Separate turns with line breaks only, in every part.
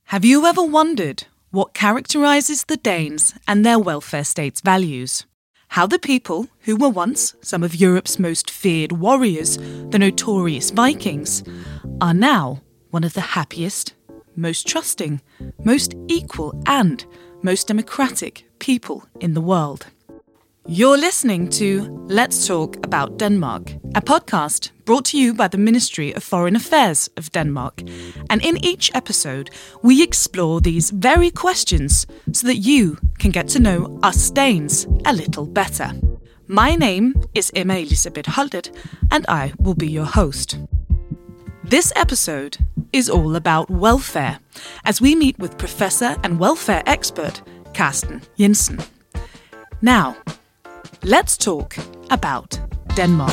Have you ever wondered what characterises the Danes and their welfare state's values? How the people, who were once some of Europe's most feared warriors, the notorious Vikings, are now one of the happiest, most trusting, most equal and most democratic people in the world. You're listening to Let's Talk About Denmark, a podcast brought to you by the Ministry of Foreign Affairs of Denmark. And in each episode, we explore these very questions so that you can get to know us Danes a little better. My name is Emma Elisabeth Holtet, and I will be your host. This episode is all about welfare, as we meet with professor and welfare expert Carsten Jensen. Now, let's talk about Denmark.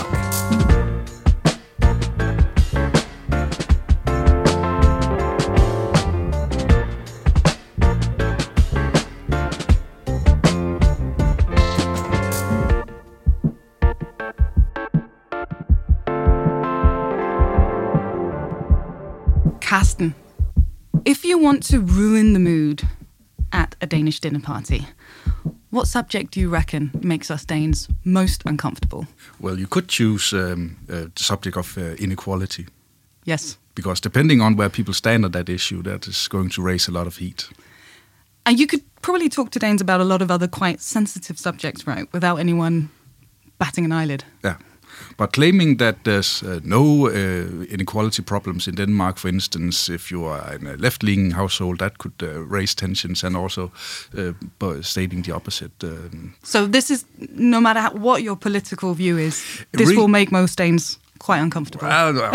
Carsten, if you want to ruin the mood at a Danish dinner party, what subject do you reckon makes us Danes most uncomfortable?
Well, you could choose the subject of inequality.
Yes.
Because depending on where people stand on that issue, that is going to raise a lot of heat.
And you could probably talk to Danes about a lot of other quite sensitive subjects, right, without anyone batting an eyelid.
Yeah. But claiming that there's no inequality problems in Denmark, for instance, if you are in a left-leaning household, that could raise tensions, and also stating the opposite.
So this is, no matter what your political view is, this will make most Danes quite uncomfortable.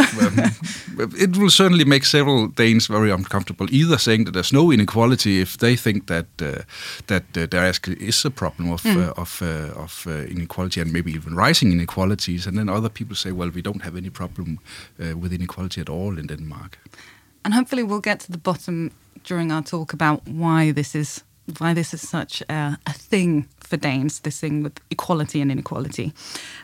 It will certainly make several Danes very uncomfortable, either saying that there's no inequality if they think that there actually is a problem of inequality and maybe even rising inequalities, and then other people say, well, we don't have any problem with inequality at all in Denmark.
And hopefully we'll get to the bottom during our talk about why this is such a thing for Danes, this thing with equality and inequality.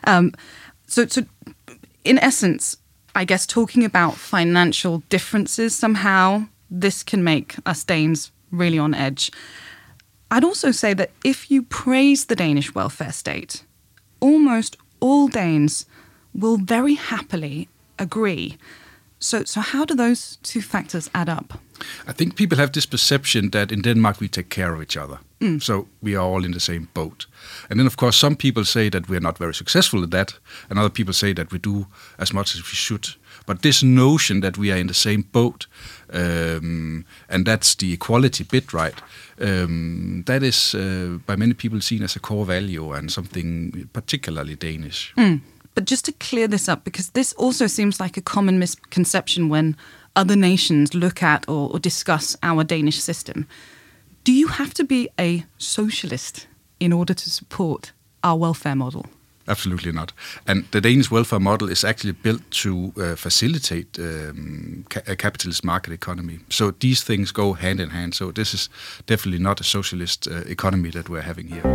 So in essence, I guess talking about financial differences, somehow this can make us Danes really on edge. I'd also say that if you praise the Danish welfare state, almost all Danes will very happily agree. So how do those two factors add up?
I think people have this perception that in Denmark we take care of each other. So we are all in the same boat. And then, of course, some people say that we're not very successful at that, and other people say that we do as much as we should. But this notion that we are in the same boat, and that's the equality bit, right, that is by many people seen as a core value and something particularly Danish.
But just to clear this up, because this also seems like a common misconception when other nations look at or discuss our Danish system. Do you have to be a socialist in order to support our welfare model?
Absolutely not. And the Danish welfare model is actually built to facilitate a capitalist market economy. So these things go hand in hand. So this is definitely not a socialist economy that we're having here.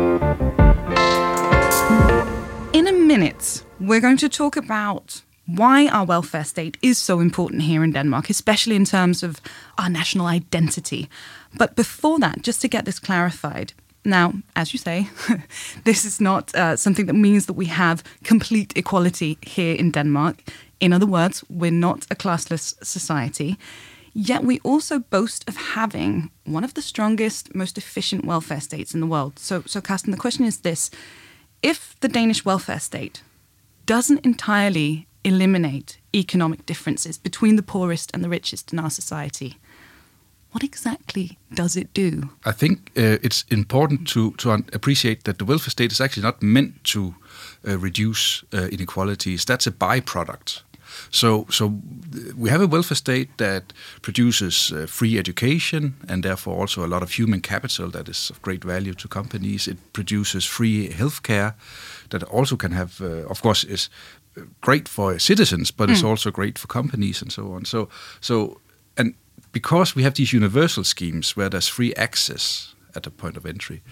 In a minute, we're going to talk about why our welfare state is so important here in Denmark, especially in terms of our national identity. But before that, just to get this clarified, now, as you say, this is not something that means that we have complete equality here in Denmark. In other words, we're not a classless society. Yet we also boast of having one of the strongest, most efficient welfare states in the world. So Carsten, the question is this. If the Danish welfare state doesn't entirely eliminate economic differences between the poorest and the richest in our society, what exactly does it do? I
think it's important to appreciate that the welfare state is actually not meant to reduce inequalities. That's a byproduct. So we have a welfare state that produces free education and therefore also a lot of human capital that is of great value to companies. It produces free healthcare that also can have, of course, is great for citizens, but it's also great for companies and so on. So and because we have these universal schemes where there's free access at the point of entry,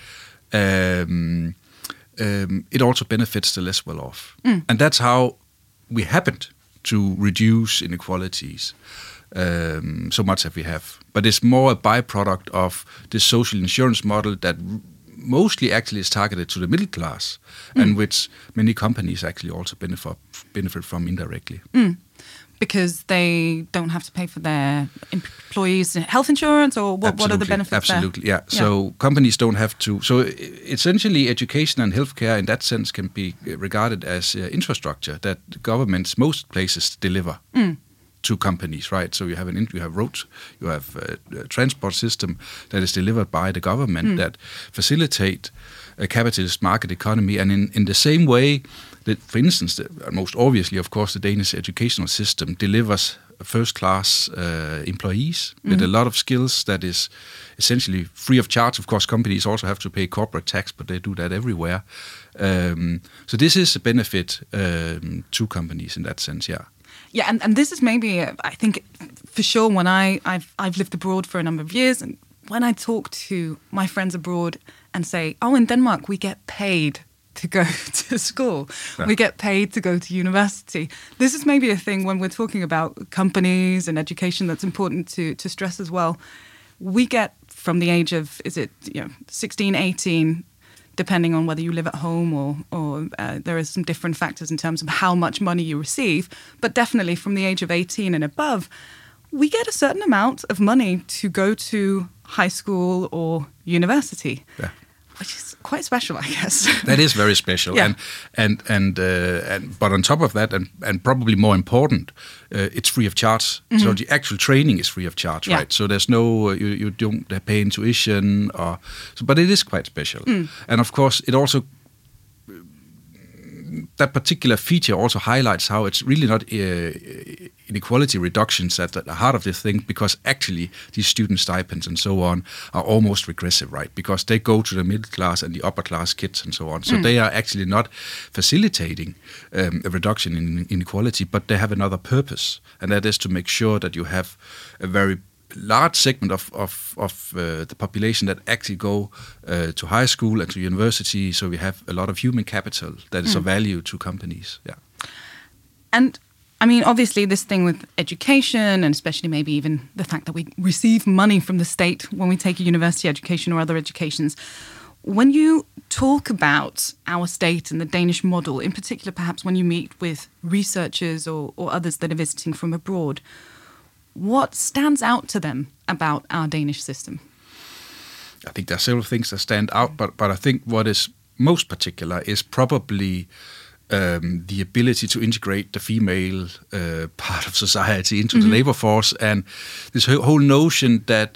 it also benefits the less well-off. And that's how we happened to reduce inequalities. so much as we have. But it's more a byproduct of the social insurance model that mostly actually is targeted to the middle class, and which many companies actually also benefit from indirectly.
Because they don't have to pay for their employees' health insurance, or what are the benefits
Absolutely,
there?
yeah. So companies don't have to. So essentially, education and healthcare in that sense can be regarded as infrastructure that governments, most places, deliver to companies, right? So you have roads, you have a transport system that is delivered by the government that facilitate a capitalist market economy, and in the same way that, for instance, most obviously, of course, the Danish educational system delivers first-class employees with a lot of skills that is essentially free of charge. Of course, companies also have to pay corporate tax, but they do that everywhere. So this is a benefit to companies in that sense, yeah.
Yeah, and this is maybe, I think, for sure, when I've lived abroad for a number of years, and when I talk to my friends abroad and say, oh, in Denmark, we get paid to go to school. Yeah. We get paid to go to university. This is maybe a thing when we're talking about companies and education that's important to stress as well. We get from the age of, 16, 18, depending on whether you live at home or there are some different factors in terms of how much money you receive, but definitely from the age of 18 and above, we get a certain amount of money to go to high school or university. Yeah. Which is quite special, I guess.
That is very special, yeah. and but on top of that, and probably more important, it's free of charge. So the actual training is free of charge, right? So there's no you don't pay in tuition, but it is quite special. And of course, it also that particular feature also highlights how it's really not inequality reductions at the heart of the thing, because actually these student stipends and so on are almost regressive, right? Because they go to the middle class and the upper class kids and so on. So they are actually not facilitating a reduction in inequality, but they have another purpose, and that is to make sure that you have a very large segment of the population that actually go to high school and to university, so we have a lot of human capital that is of value to companies. Yeah.
And I mean, obviously this thing with education, and especially maybe even the fact that we receive money from the state when we take a university education or other educations, when you talk about our state and the Danish model, in particular perhaps when you meet with researchers or others that are visiting from abroad, what stands out to them about our Danish system?
I think there are several things that stand out, but I think what is most particular is probably the ability to integrate the female part of society into the labor force, and this whole notion that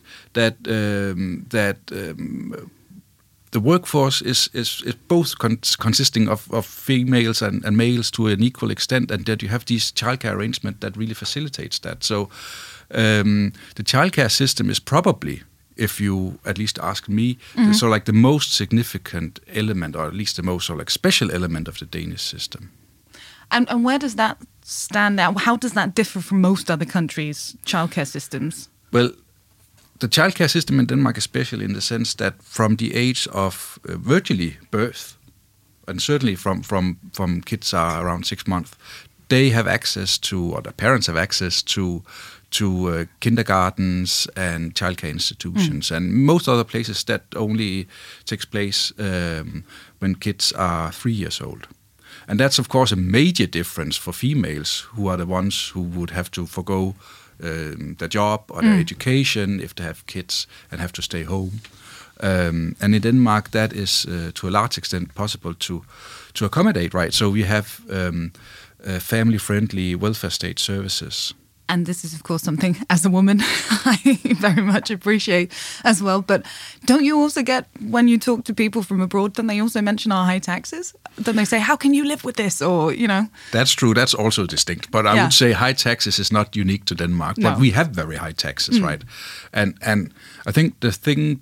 the workforce is both consisting of females and males to an equal extent, and that you have these childcare arrangement that really facilitates that. So the childcare system is probably, if you at least ask me, so like the most significant element, or at least the most special element of the Danish system.
And where does that stand out? How does that differ from most other countries' childcare systems?
Well, the childcare system in Denmark is special in the sense that from the age of virtually birth, and certainly from kids are around 6 months, they have access to, or their parents have access to kindergartens and childcare institutions. And most other places that only takes place when kids are 3 years old. And that's, of course, a major difference for females, who are the ones who would have to forgo their job or their education if they have kids and have to stay home. And in Denmark, that is to a large extent possible to accommodate, right? So we have family-friendly welfare state services.
And this is, of course, something, as a woman, I very much appreciate as well. But don't you also get, when you talk to people from abroad, don't they also mention our high taxes? Don't they say, how can you live with this? Or,
That's true. That's also distinct. But I would say high taxes is not unique to Denmark. But we have very high taxes, right? And I think the thing to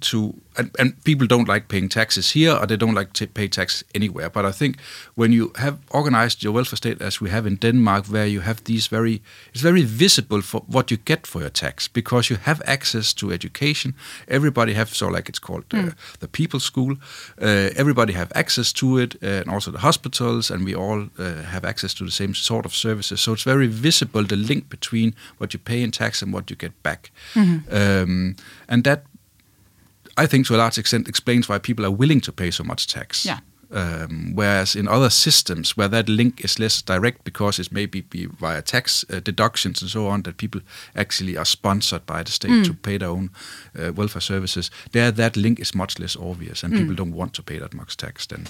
and people don't like paying taxes here, or they don't like to pay taxes anywhere. But I think when you have organized your welfare state as we have in Denmark, where you have it's very visible for what you get for your tax, because you have access to education. Everybody have, so like it's called the People's School. Everybody have access to it, and also the hospitals, and we all have access to the same sort of services. So it's very visible, the link between what you pay in tax and what you get back. And that, I think, to a large extent explains why people are willing to pay so much tax.
Yeah.
Whereas in other systems where that link is less direct, because it's maybe via tax deductions and so on, that people actually are sponsored by the state to pay their own welfare services, there that link is much less obvious, and people don't want to pay that much tax then.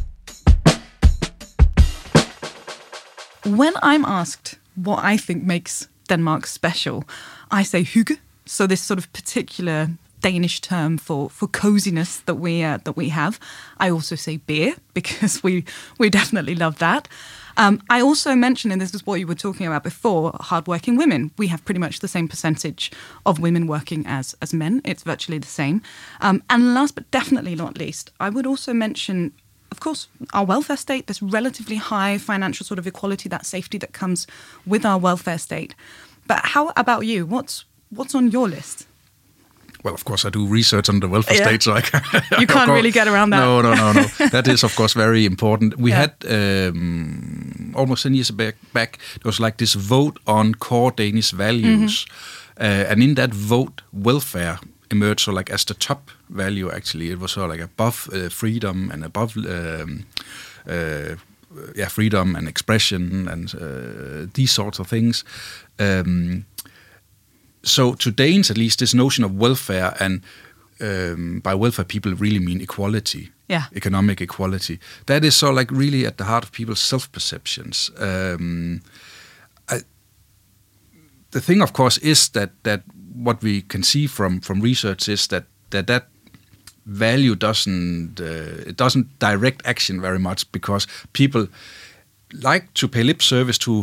When I'm asked what I think makes Denmark special, I say hygge. So this sort of particular Danish term for coziness that we have. I also say beer, because we definitely love that. I also mentioned, and this is what you were talking about before, hardworking women. We have pretty much the same percentage of women working as men. It's virtually the same. And last but definitely not least, I would also mention, of course, our welfare state. There's relatively high financial sort of equality, that safety that comes with our welfare state. But how about you? What's on your list?
Well, of course, I do research on the welfare state, so I can,
you can't really get around that.
No. That is, of course, very important. We had almost 10 years back, there was like this vote on core Danish values. And in that vote, welfare emerged so like as the top value, actually. It was sort of like above freedom and above freedom and expression and these sorts of things. So to Danes, at least, this notion of welfare, and by welfare people really mean equality, economic equality, that is so like really at the heart of people's self-perceptions. The thing, of course, is that what we can see from research is that value doesn't direct action very much, because people like to pay lip service to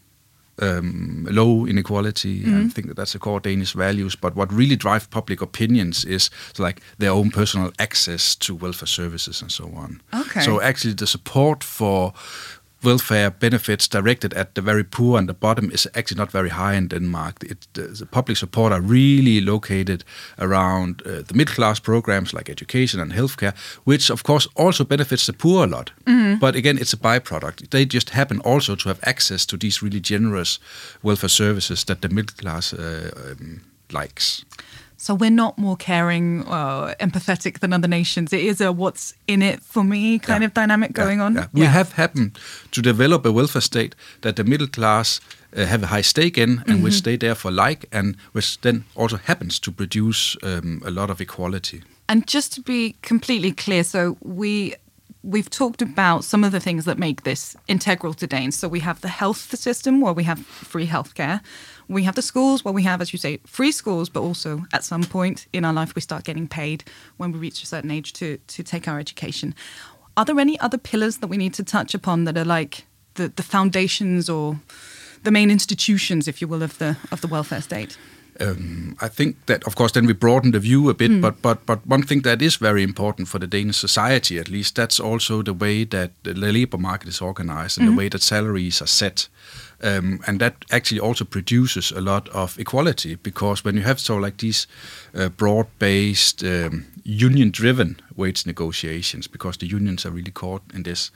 low inequality, and think that that's the core Danish values. But what really drives public opinions is like their own personal access to welfare services and so on.
Okay.
So actually the support for welfare benefits directed at the very poor and the bottom is actually not very high in Denmark. The public support are really located around the middle-class programs like education and healthcare, which of course also benefits the poor a lot. But again, it's a byproduct. They just happen also to have access to these really generous welfare services that the middle class likes.
So we're not more caring, empathetic than other nations. It is a what's in it for me kind of dynamic going on.
Yeah. We have happened to develop a welfare state that the middle class have a high stake in, and which they therefore like, and which then also happens to produce a lot of equality.
And just to be completely clear, so we've talked about some of the things that make this integral to Danes. So we have the health system, where we have free healthcare. We have the schools, where we have, as you say, free schools, but also at some point in our life we start getting paid when we reach a certain age to take our education. Are there any other pillars that we need to touch upon that are like the foundations or the main institutions, if you will, of the welfare state?
I think that, of course, then we broaden the view a bit, but one thing that is very important for the Danish society, at least, that's also the way that the labor market is organized and the way that salaries are set. And that actually also produces a lot of equality, because when you have so like these broad-based, union-driven wage negotiations, because the unions are really caught in this,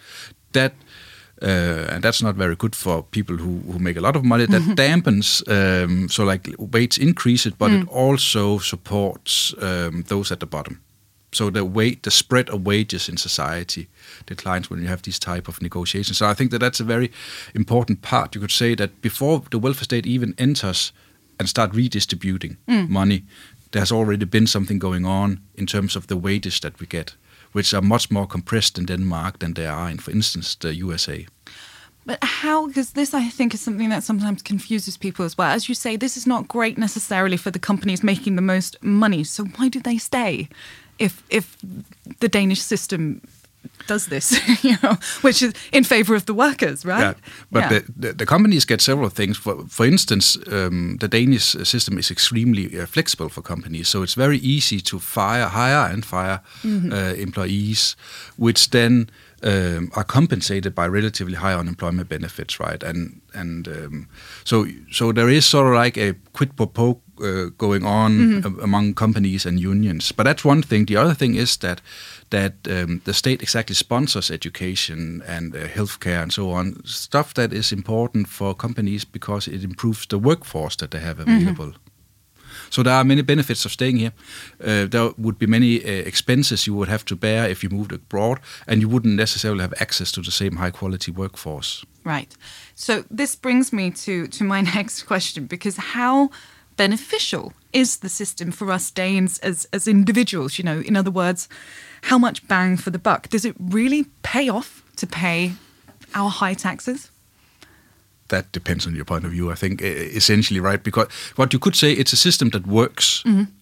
and that's not very good for people who make a lot of money. That dampens, so like wage increases, but it also supports those at the bottom. So the spread of wages in society declines when you have these type of negotiations. So I think that's a very important part. You could say that before the welfare state even enters and start redistributing money, there's already been something going on in terms of the wages that we get, which are much more compressed in Denmark than they are in, for instance, the USA.
But how, because this I think is something that sometimes confuses people as well. As you say, this is not great necessarily for the companies making the most money. So why do they stay if the Danish system does this, which is in favor of the workers, right?
Yeah, but the companies get several things. For instance, the Danish system is extremely flexible for companies, so it's very easy to hire and fire employees, which then are compensated by relatively high unemployment benefits, right? And so there is sort of like a quid pro quo going on among companies and unions. But that's one thing. The other thing is that the state exactly sponsors education and healthcare and so on, stuff that is important for companies because it improves the workforce that they have available. So there are many benefits of staying here. There would be many expenses you would have to bear if you moved abroad, and you wouldn't necessarily have access to the same high-quality workforce.
Right. So this brings me to my next question, because how beneficial is the system for us Danes as individuals? In other words, how much bang for the buck? Does it really pay off to pay our high taxes?
That depends on your point of view, I think, essentially, right? Because what you could say, it's a system that works.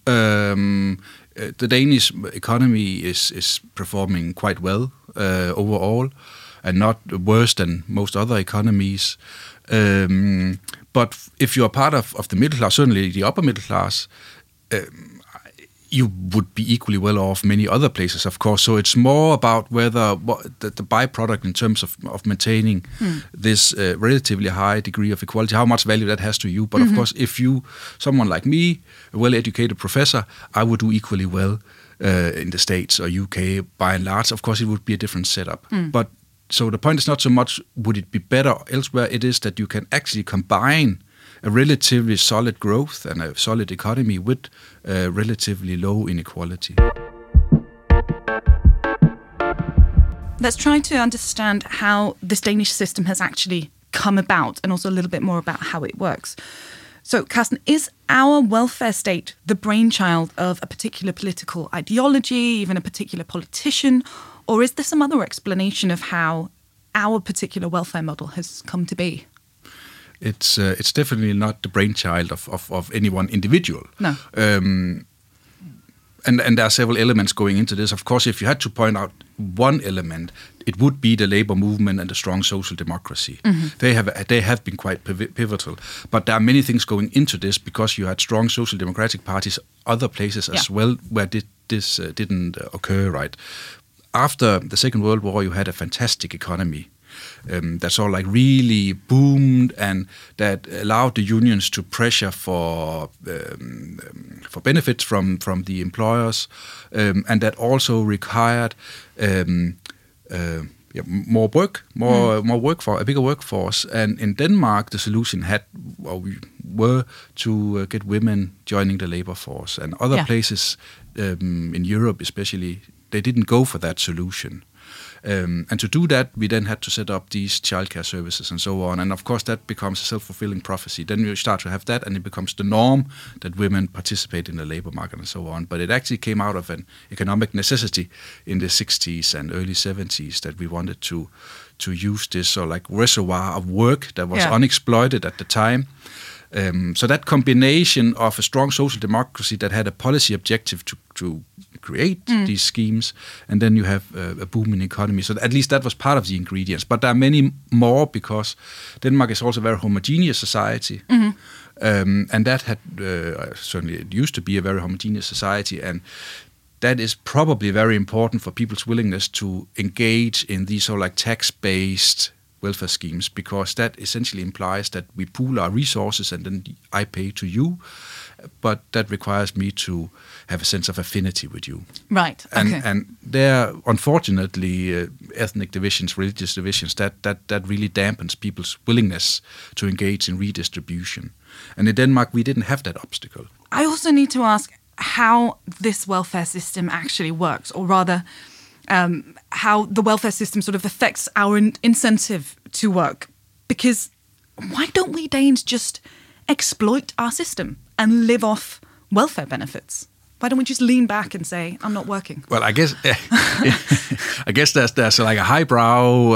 The Danish economy is performing quite well overall, and not worse than most other economies. But if you're part of the middle class, certainly the upper middle class, you would be equally well off many other places, of course. So it's more about whether the byproduct in terms of maintaining this relatively high degree of equality, how much value that has to you. But of course, if someone like me, a well-educated professor, I would do equally well in the States or UK by and large. Of course, it would be a different setup. But so the point is not so much would it be better elsewhere, it is that you can actually combine a relatively solid growth and a solid economy with relatively low inequality.
Let's try to understand how this Danish system has actually come about, and also a little bit more about how it works. So, Carsten, is our welfare state the brainchild of a particular political ideology, even a particular politician, or is there some other explanation of how our particular welfare model has come to be?
It's definitely not the brainchild of any one individual.
No.
And there are several elements going into this. Of course, if you had to point out one element, it would be the labor movement and the strong social democracy. They have been quite pivotal. But there are many things going into this because you had strong social democratic parties other places as well where this didn't occur, right? After the Second World War, you had a fantastic economy. That sort of like really boomed, and that allowed the unions to pressure for benefits from the employers, and that also required more work, for a bigger workforce. And in Denmark, the solution were to get women joining the labor force, and other places in Europe, especially, they didn't go for that solution. And to do that, we then had to set up these childcare services and so on. And of course, that becomes a self-fulfilling prophecy. Then you start to have that, and it becomes the norm that women participate in the labor market and so on. But it actually came out of an economic necessity in the 60s and early 70s that we wanted to use this sort of like reservoir of work that was unexploited at the time. So that combination of a strong social democracy that had a policy objective to create these schemes, and then you have a booming economy. So at least that was part of the ingredients. But there are many more, because Denmark is also a very homogeneous society. And that had, certainly it used to be a very homogeneous society, and that is probably very important for people's willingness to engage in these sort of like tax-based welfare schemes, because that essentially implies that we pool our resources and then I pay to you, but that requires me to have a sense of affinity with you.
Right. Okay.
And there, unfortunately, ethnic divisions, religious divisions, that really dampens people's willingness to engage in redistribution. And in Denmark, we didn't have that obstacle.
I also need to ask how this welfare system actually works, or rather, how the welfare system sort of affects our incentive to work. Because why don't we Danes just exploit our system and live off welfare benefits? Why don't we just lean back and say, I'm not working?
Well, I guess there's like a highbrow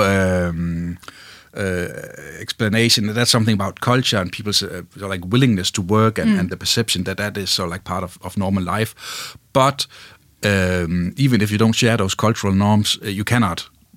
explanation. That's something about culture and people's like willingness to work and the perception that is sort of like part of normal life. But even if you don't share those cultural norms, you cannot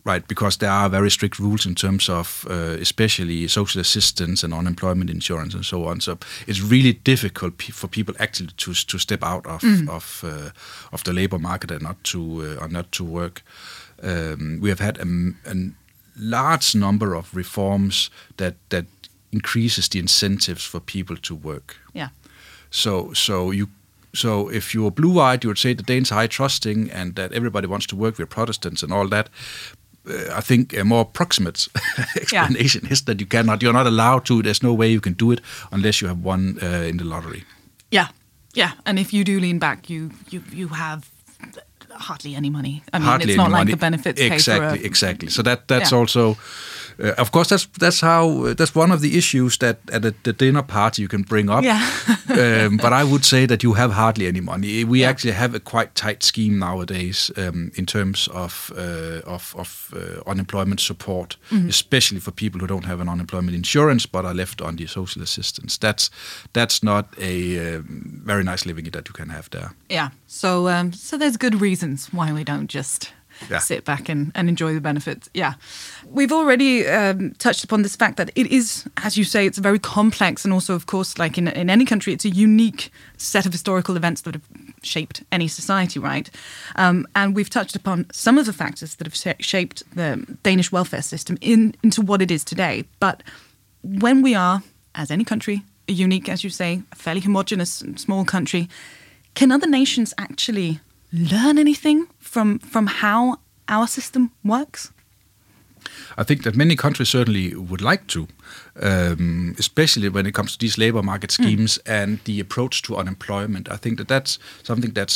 right? Because there are very strict rules in terms of especially social assistance and unemployment insurance and so on. So it's really difficult for people actually to step out of the labor market and not to work. We have had a large number of reforms that increases the incentives for people to work.
Yeah.
So if you're blue-eyed, you would say the Danes are high trusting and that everybody wants to work. We're Protestants and all that. I think a more approximate explanation is that you're not allowed to. There's no way you can do it unless you have won in the lottery.
Yeah. And if you do lean back, you have hardly any money. I mean,
hardly
it's not like
money.
the benefits
Exactly. So that's also, of course, that's one of the issues that at the dinner party you can bring up.
Yeah.
But I would say that you have hardly any money. We actually have a quite tight scheme nowadays in terms of unemployment support, especially for people who don't have an unemployment insurance but are left on the social assistance. That's not a very nice living that you can have there.
Yeah. So there's good reasons why we don't just sit back and enjoy the benefits. Yeah. We've already touched upon this fact that it is, as you say, it's very complex, and also, of course, like in any country, it's a unique set of historical events that have shaped any society, right? And we've touched upon some of the factors that have shaped the Danish welfare system into what it is today. But when we are, as any country, a unique, as you say, a fairly homogenous small country, can other nations actually learn anything from how our system works?
I think that many countries certainly would like to, especially when it comes to these labor market schemes and the approach to unemployment. I think that's something that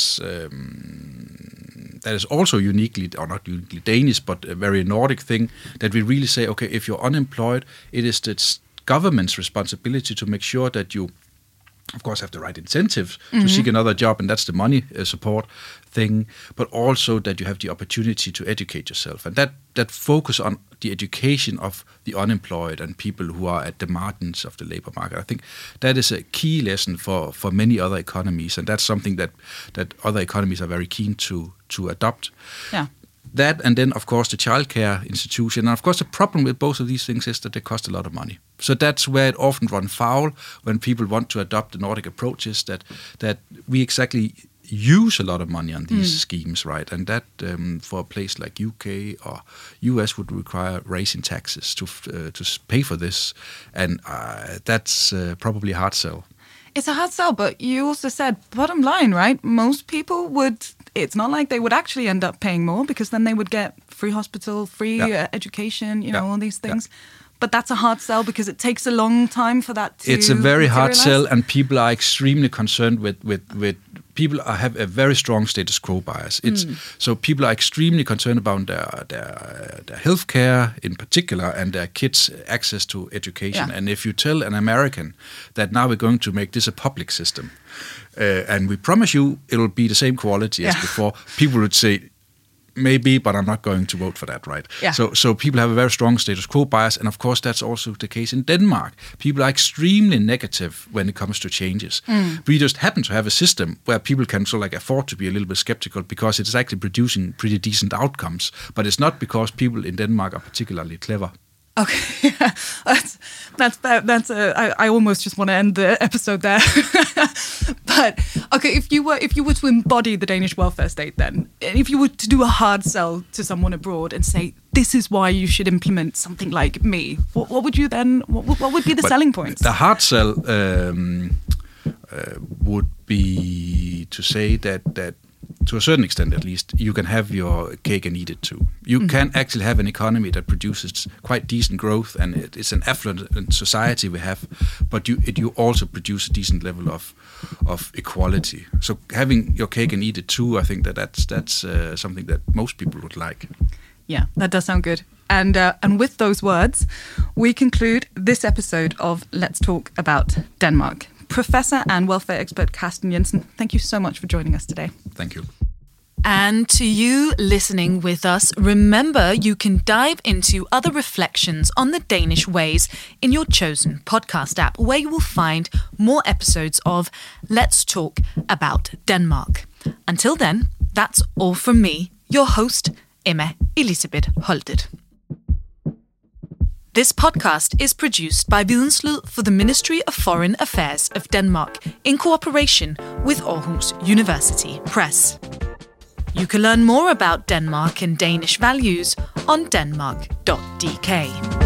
is also uniquely, or not uniquely Danish, but a very Nordic thing, that we really say, okay, if you're unemployed, it is the government's responsibility to make sure that you, of course, have the right incentives to seek another job, and that's the money support thing, but also that you have the opportunity to educate yourself. And that focus on the education of the unemployed and people who are at the margins of the labor market, I think that is a key lesson for many other economies, and that's something that other economies are very keen to adopt.
Yeah.
That, and then, of course, the childcare institution. And, of course, the problem with both of these things is that they cost a lot of money. So that's where it often runs foul when people want to adopt the Nordic approaches, that we exactly use a lot of money on these schemes, right? And that, for a place like UK or US, would require raising taxes to pay for this. And that's probably a hard sell.
It's a hard sell, but you also said, bottom line, right? Most people would... It's not like they would actually end up paying more, because then they would get free hospital, free education, you know, all these things. But that's a hard sell because it takes a long time for that to
It's a very hard sell, and people are extremely concerned with people have a very strong status quo bias. So people are extremely concerned about their healthcare in particular and their kids' access to education. And if you tell an American that now we're going to make this a public system, and we promise you it'll be the same quality as before, people would say, maybe, but I'm not going to vote for that, right?
Yeah.
So people have a very strong status quo bias, and of course that's also the case in Denmark. People are extremely negative when it comes to changes. We just happen to have a system where people can sort of like afford to be a little bit skeptical because it's actually producing pretty decent outcomes, but it's not because people in Denmark are particularly clever.
Okay, I almost just want to end the episode there. But okay, if you were to embody the Danish welfare state, then if you were to do a hard sell to someone abroad and say this is why you should implement something like me, what would you then? What would be the selling points?
The hard sell would be to say that. To a certain extent, at least, you can have your cake and eat it too. You can actually have an economy that produces quite decent growth, and it's an affluent society we have, but you also produce a decent level of equality. So having your cake and eat it too, I think that's something that most people would like.
Yeah, that does sound good. And with those words, we conclude this episode of Let's Talk About Denmark. Professor and welfare expert Carsten Jensen, thank you so much for joining us today.
Thank you.
And to you listening with us, remember you can dive into other reflections on the Danish ways in your chosen podcast app, where you will find more episodes of Let's Talk About Denmark. Until then, that's all from me, your host, Emma Elisabeth Holtet. This podcast is produced by Videnslyd for the Ministry of Foreign Affairs of Denmark in cooperation with Aarhus University Press. You can learn more about Denmark and Danish values on denmark.dk.